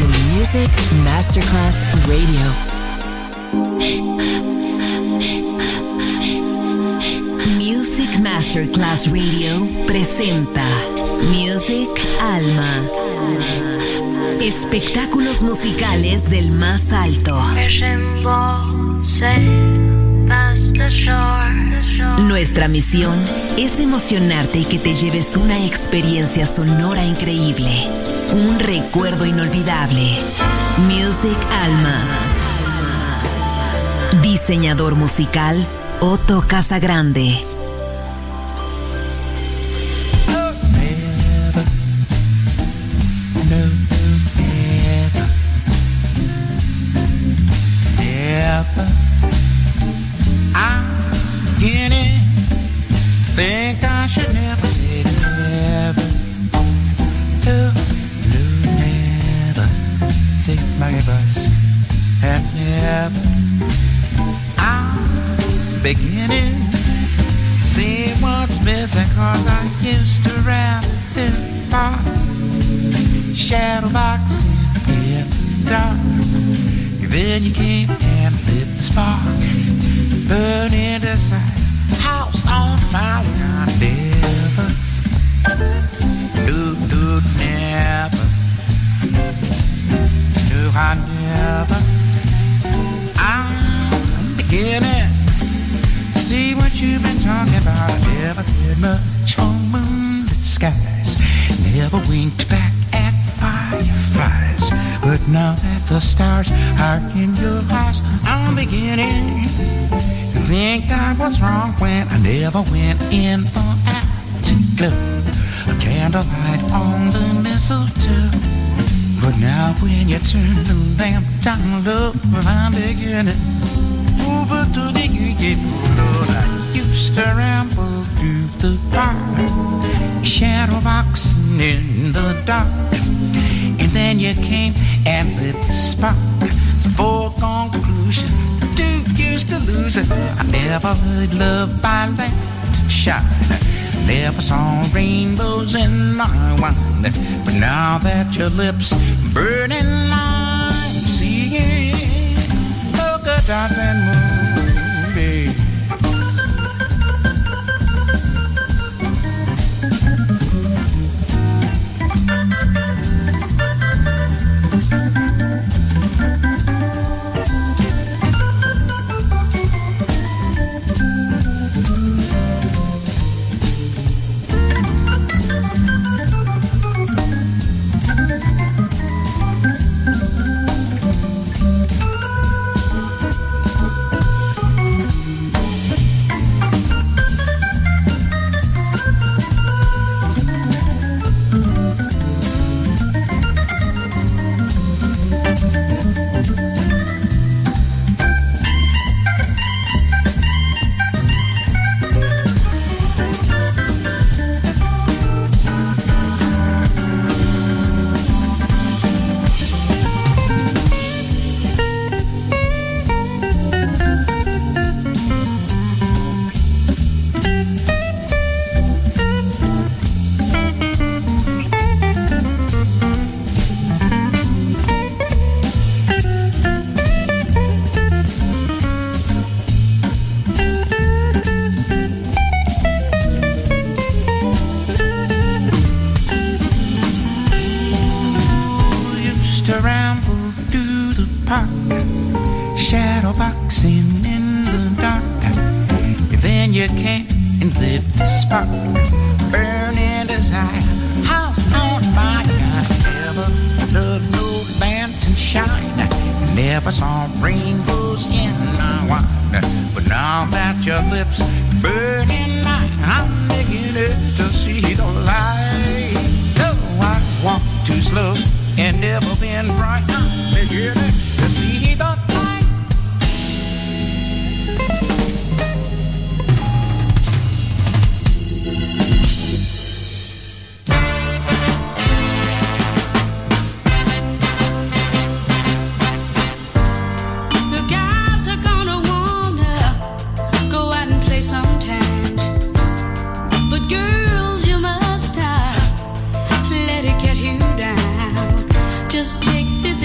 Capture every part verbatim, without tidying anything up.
to Music Masterclass Radio. Music Masterclass Radio presenta Music Alma. Espectáculos musicales del más alto. Nuestra misión es emocionarte y que te lleves una experiencia sonora increíble, un recuerdo inolvidable. Music Alma. Diseñador musical Otto Casagrande. Think I should never say never. No, no, never. Take my advice and never. I'm beginning to see what's missing, cause I used to rap in the park, shadow boxing in the dark. Then you came and lit the spark, burning inside. House on fire, I never, no, no, never, no, I never. I'm beginning to see what you've been talking about. I never did much for moonlit skies, never winked back at fireflies. But now that the stars are in your eyes, I'm beginning to think I was wrong when I never went in for afterglow, a candlelight on the mistletoe. But now when you turn the lamp down low, I'm beginning over to the U Lord, I used to ramble through the park, shadow boxing in the dark. And then you came and lit the spark. It's a foregone conclusion, too used to lose it. I never heard love by light and shine, never saw rainbows in my wine. But now that your lips burning mine, seeing polka dots and moonbeams. Just take this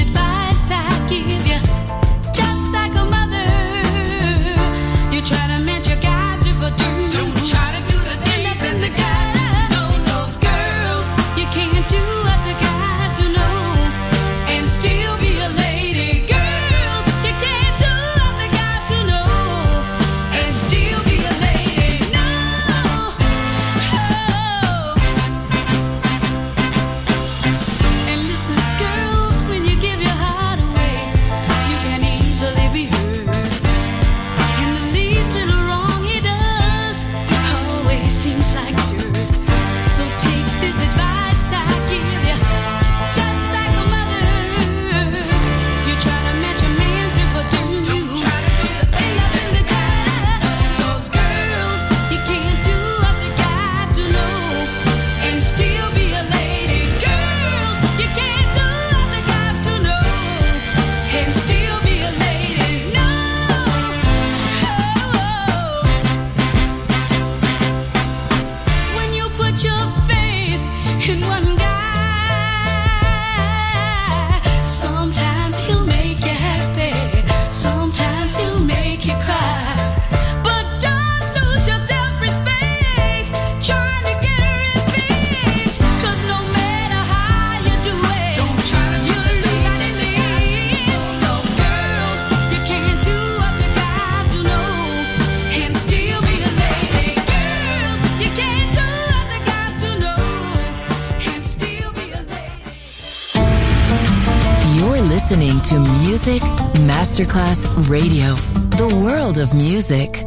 listening to Music Masterclass Radio, the world of music.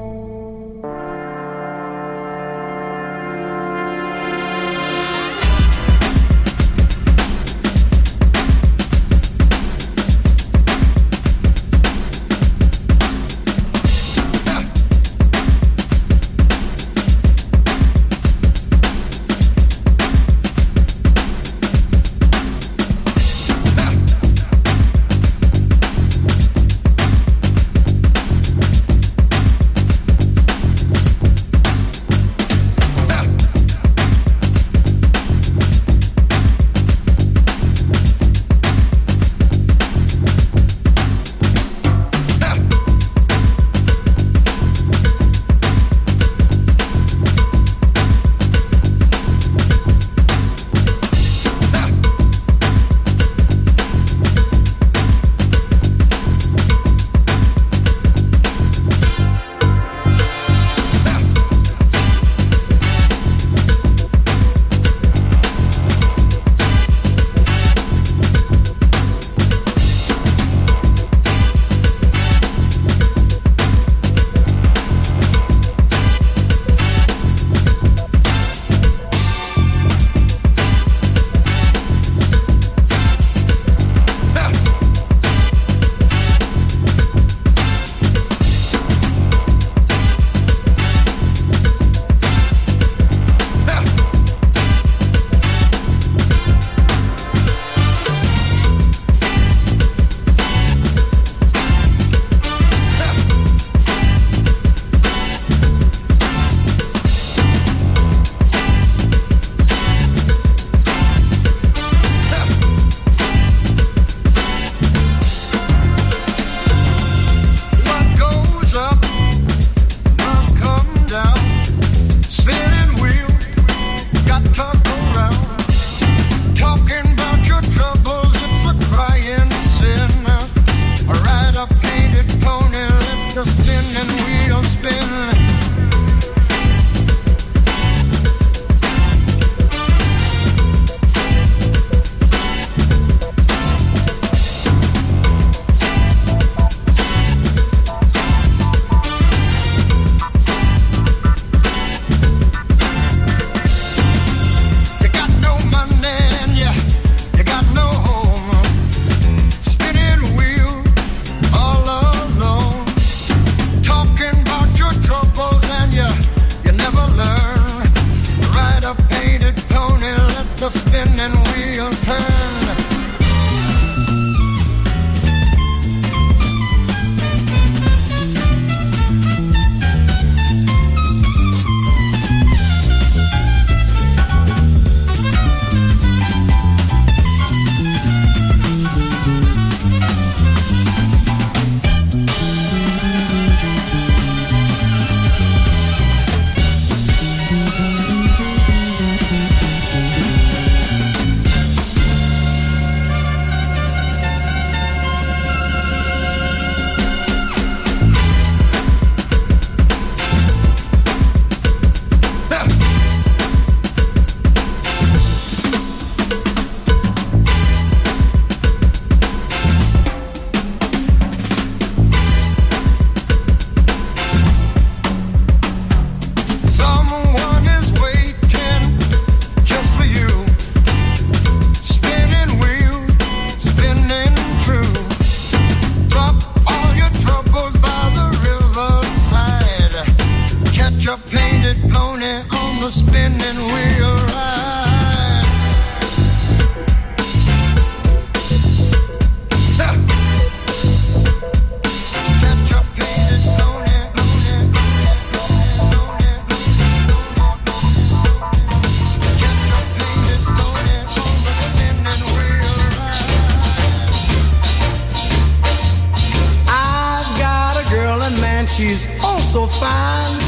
She's oh so fine.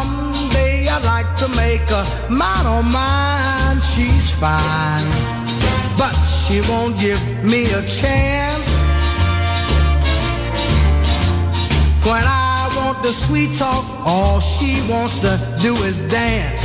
Someday I'd like to make her mine, oh mine. She's fine, but she won't give me a chance. When I want the sweet talk, all she wants to do is dance.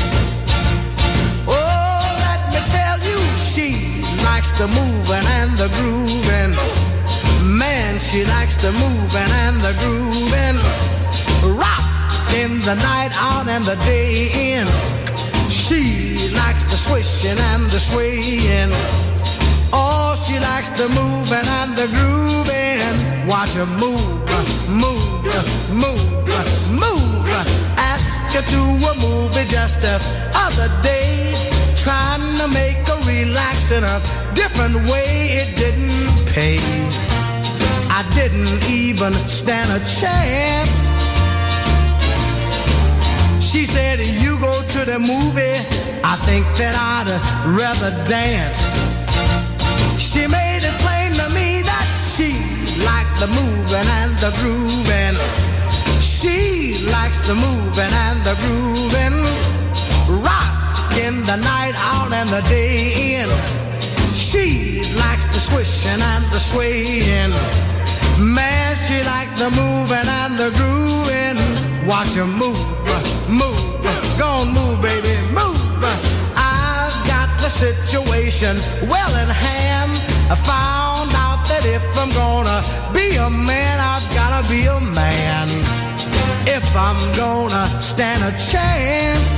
Oh, let me tell you, she likes the moving and the grooving. Man, she likes the moving and the grooving, rock in the night out and the day in. She likes the swishing and the swaying. Oh, she likes the moving and the grooving. Watch her move, move, move, move. Ask her to a movie just the other day, trying to make her relax in a different way. It didn't pay. I didn't even stand a chance. She said, you go to the movie, I think that I'd rather dance. She made it plain to me that she liked the moving and the grooving. She likes the moving and the grooving, rock in the night out and the day in. She likes the swishing and the swaying. Man, she liked the moving and the grooving. Watch her move, move, go on, move, baby, move. I've got the situation well in hand. I found out that if I'm gonna be a man, I've gotta be a man. If I'm gonna stand a chance,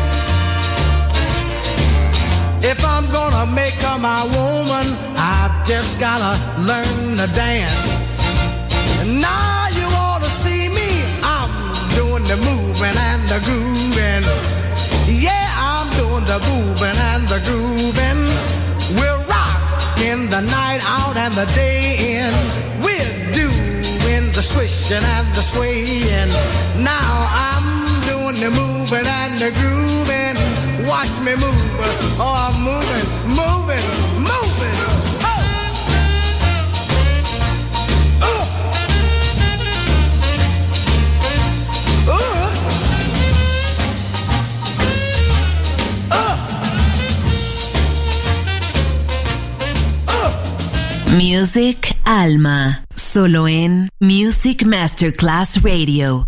if I'm gonna make her my woman, I've just gotta learn to dance. Now you ought to see me, I'm doing the moving and the grooving. Yeah, I'm doing the moving and the grooving. We're rocking the night out and the day in. We're doing the swishing and the swaying. Now I'm doing the moving and the grooving. Watch me move, oh I'm moving, moving, moving. Music Alma, solo en Music Masterclass Radio.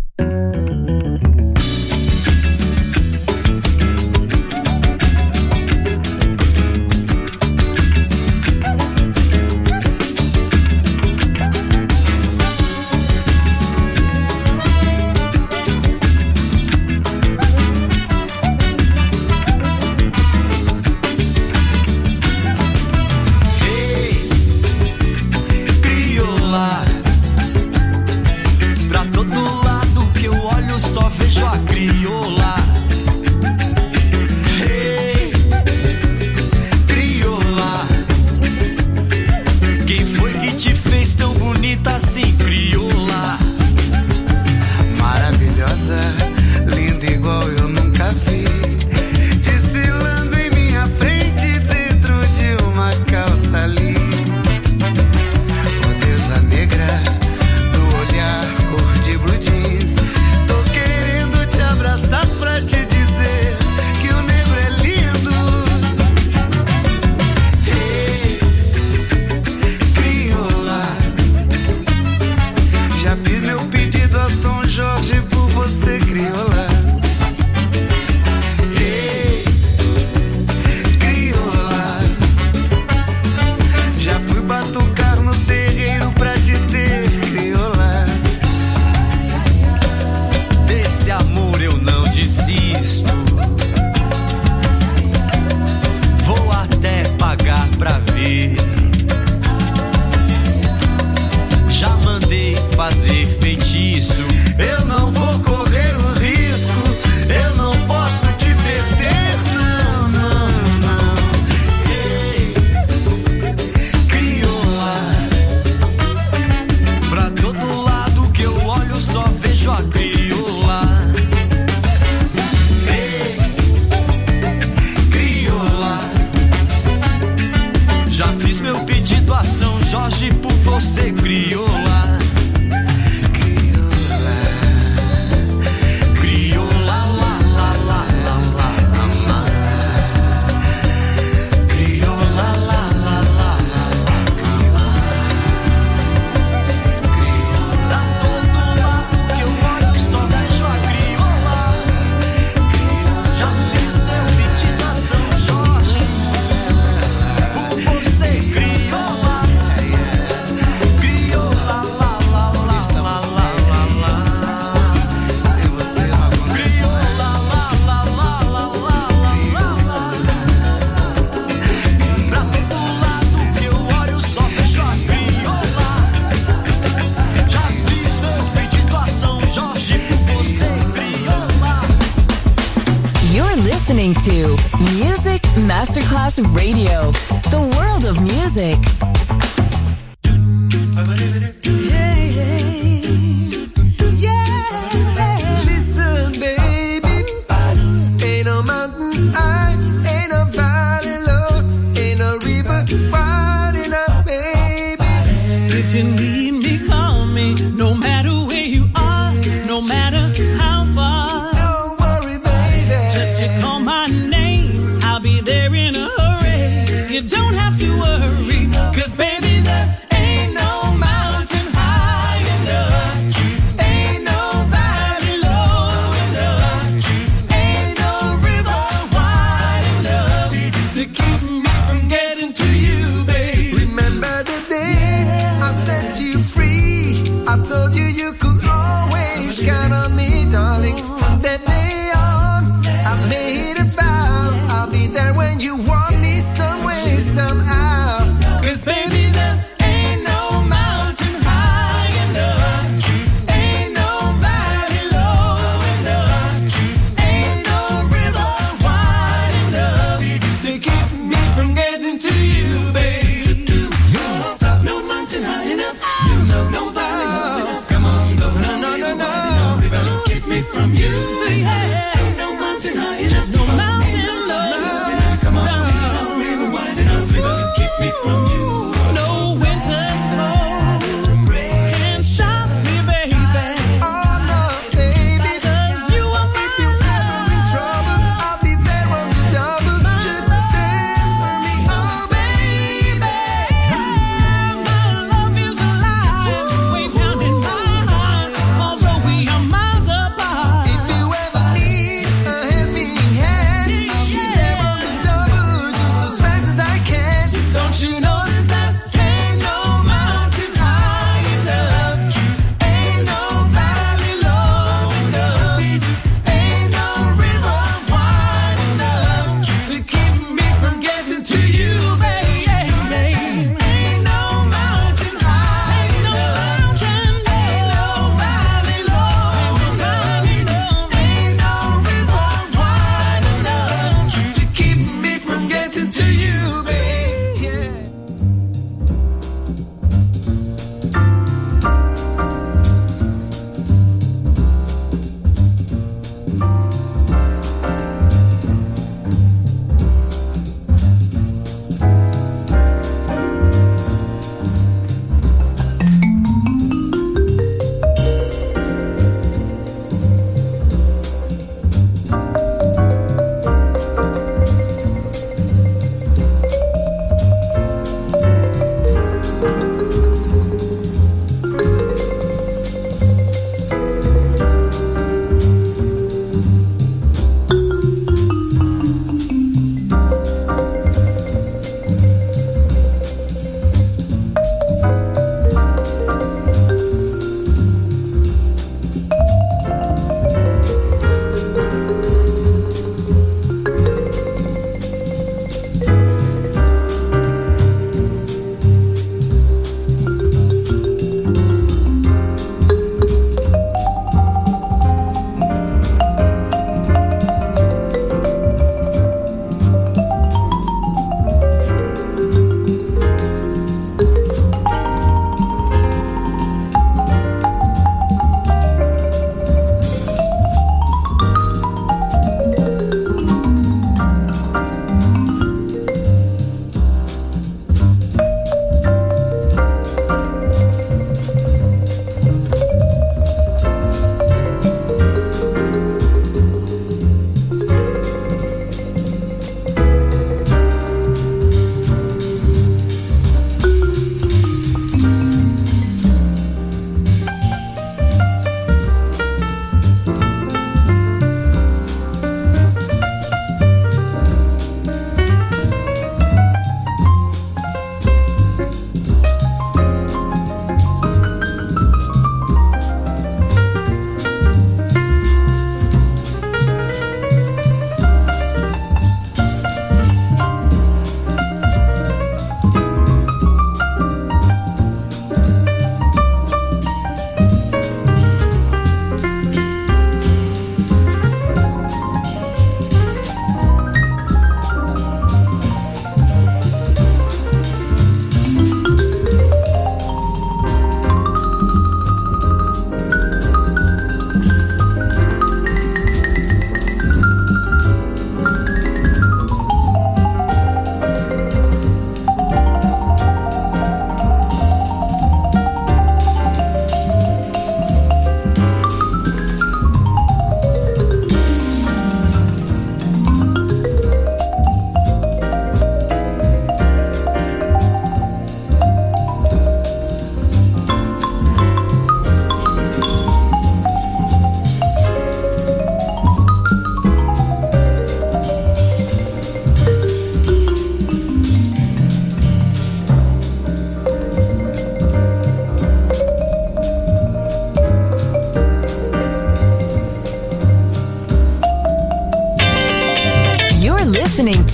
Crioula, listening to Music Masterclass Radio, the world of music. Yeah, yeah. Listen, baby, ain't no mountain high, ain't no valley low, ain't no river wide enough, baby. If you need me, call me, no matter where you are, no matter how far. Don't worry, baby. Just you call my name, I'll be there in a hurry. You don't have to worry, 'cause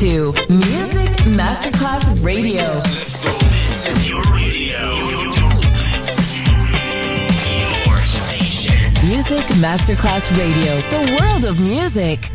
to Music Masterclass Radio. Let's go. This is your radio. Your station. Music Masterclass Radio. The world of music.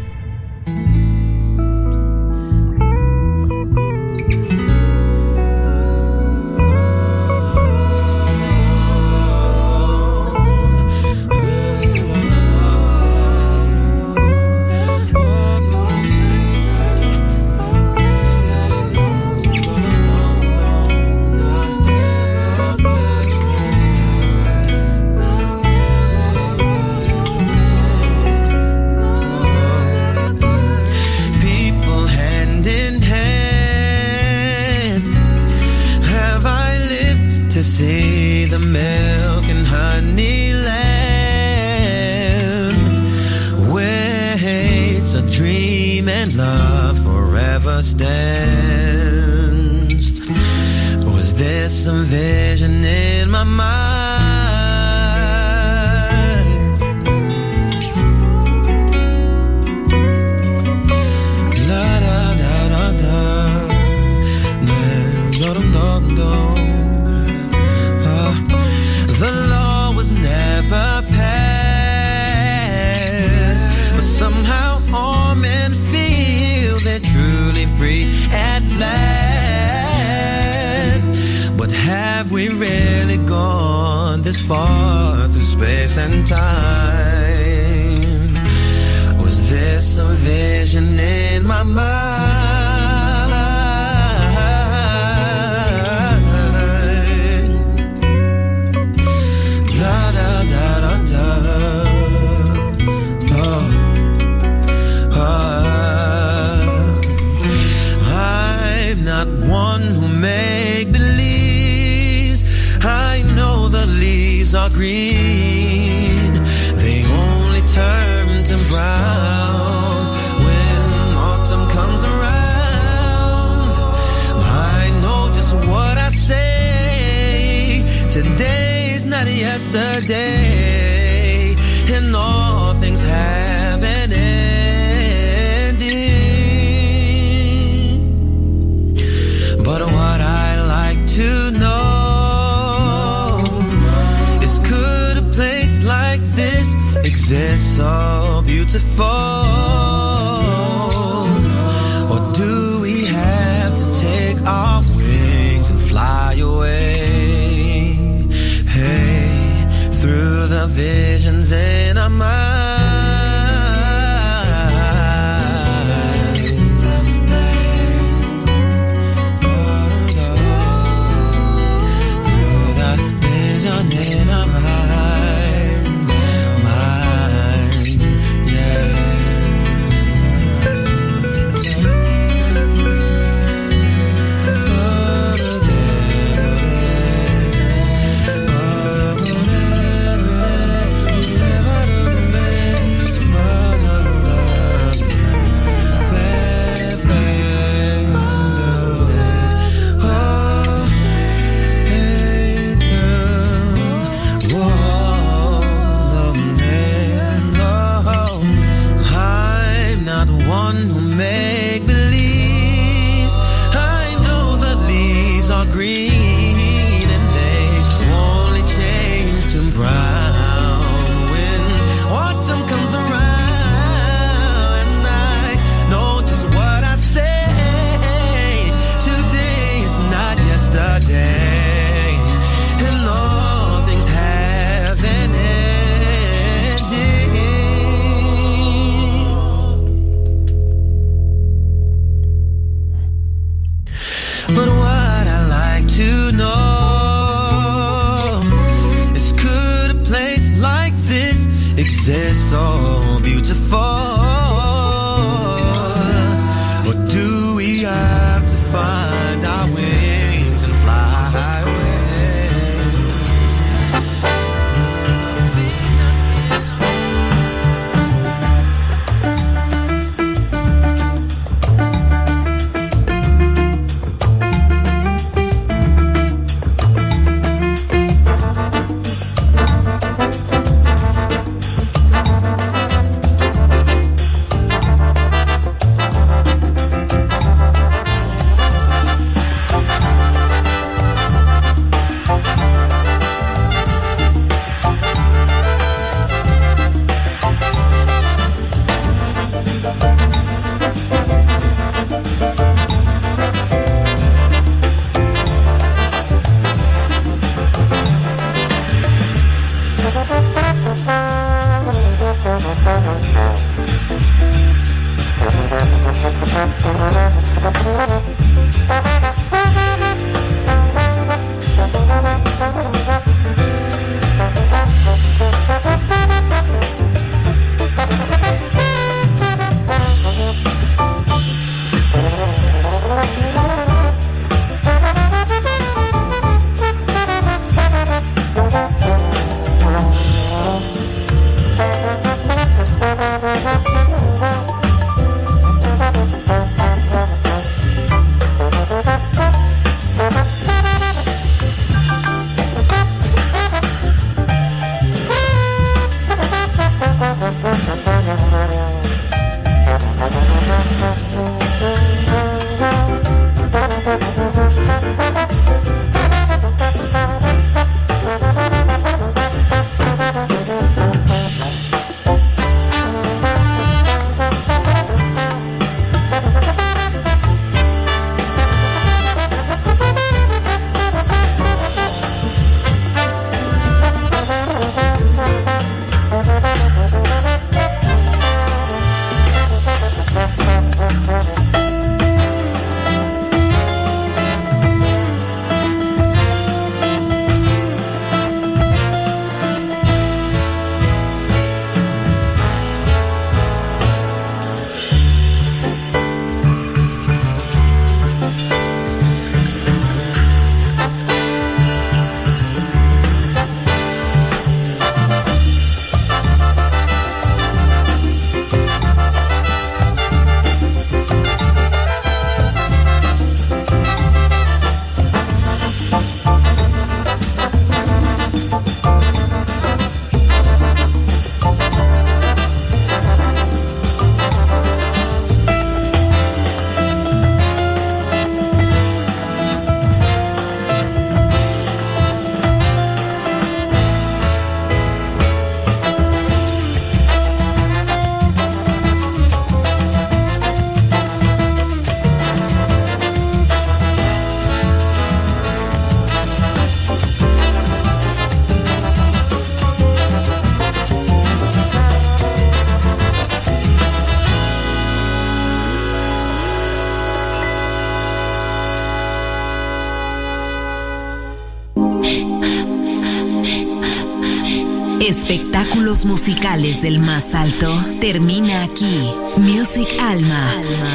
Espectáculos musicales del más alto termina aquí. Music Alma.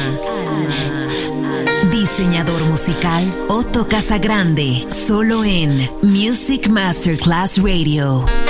Diseñador musical Otto Casagrande, solo en Music Masterclass Radio.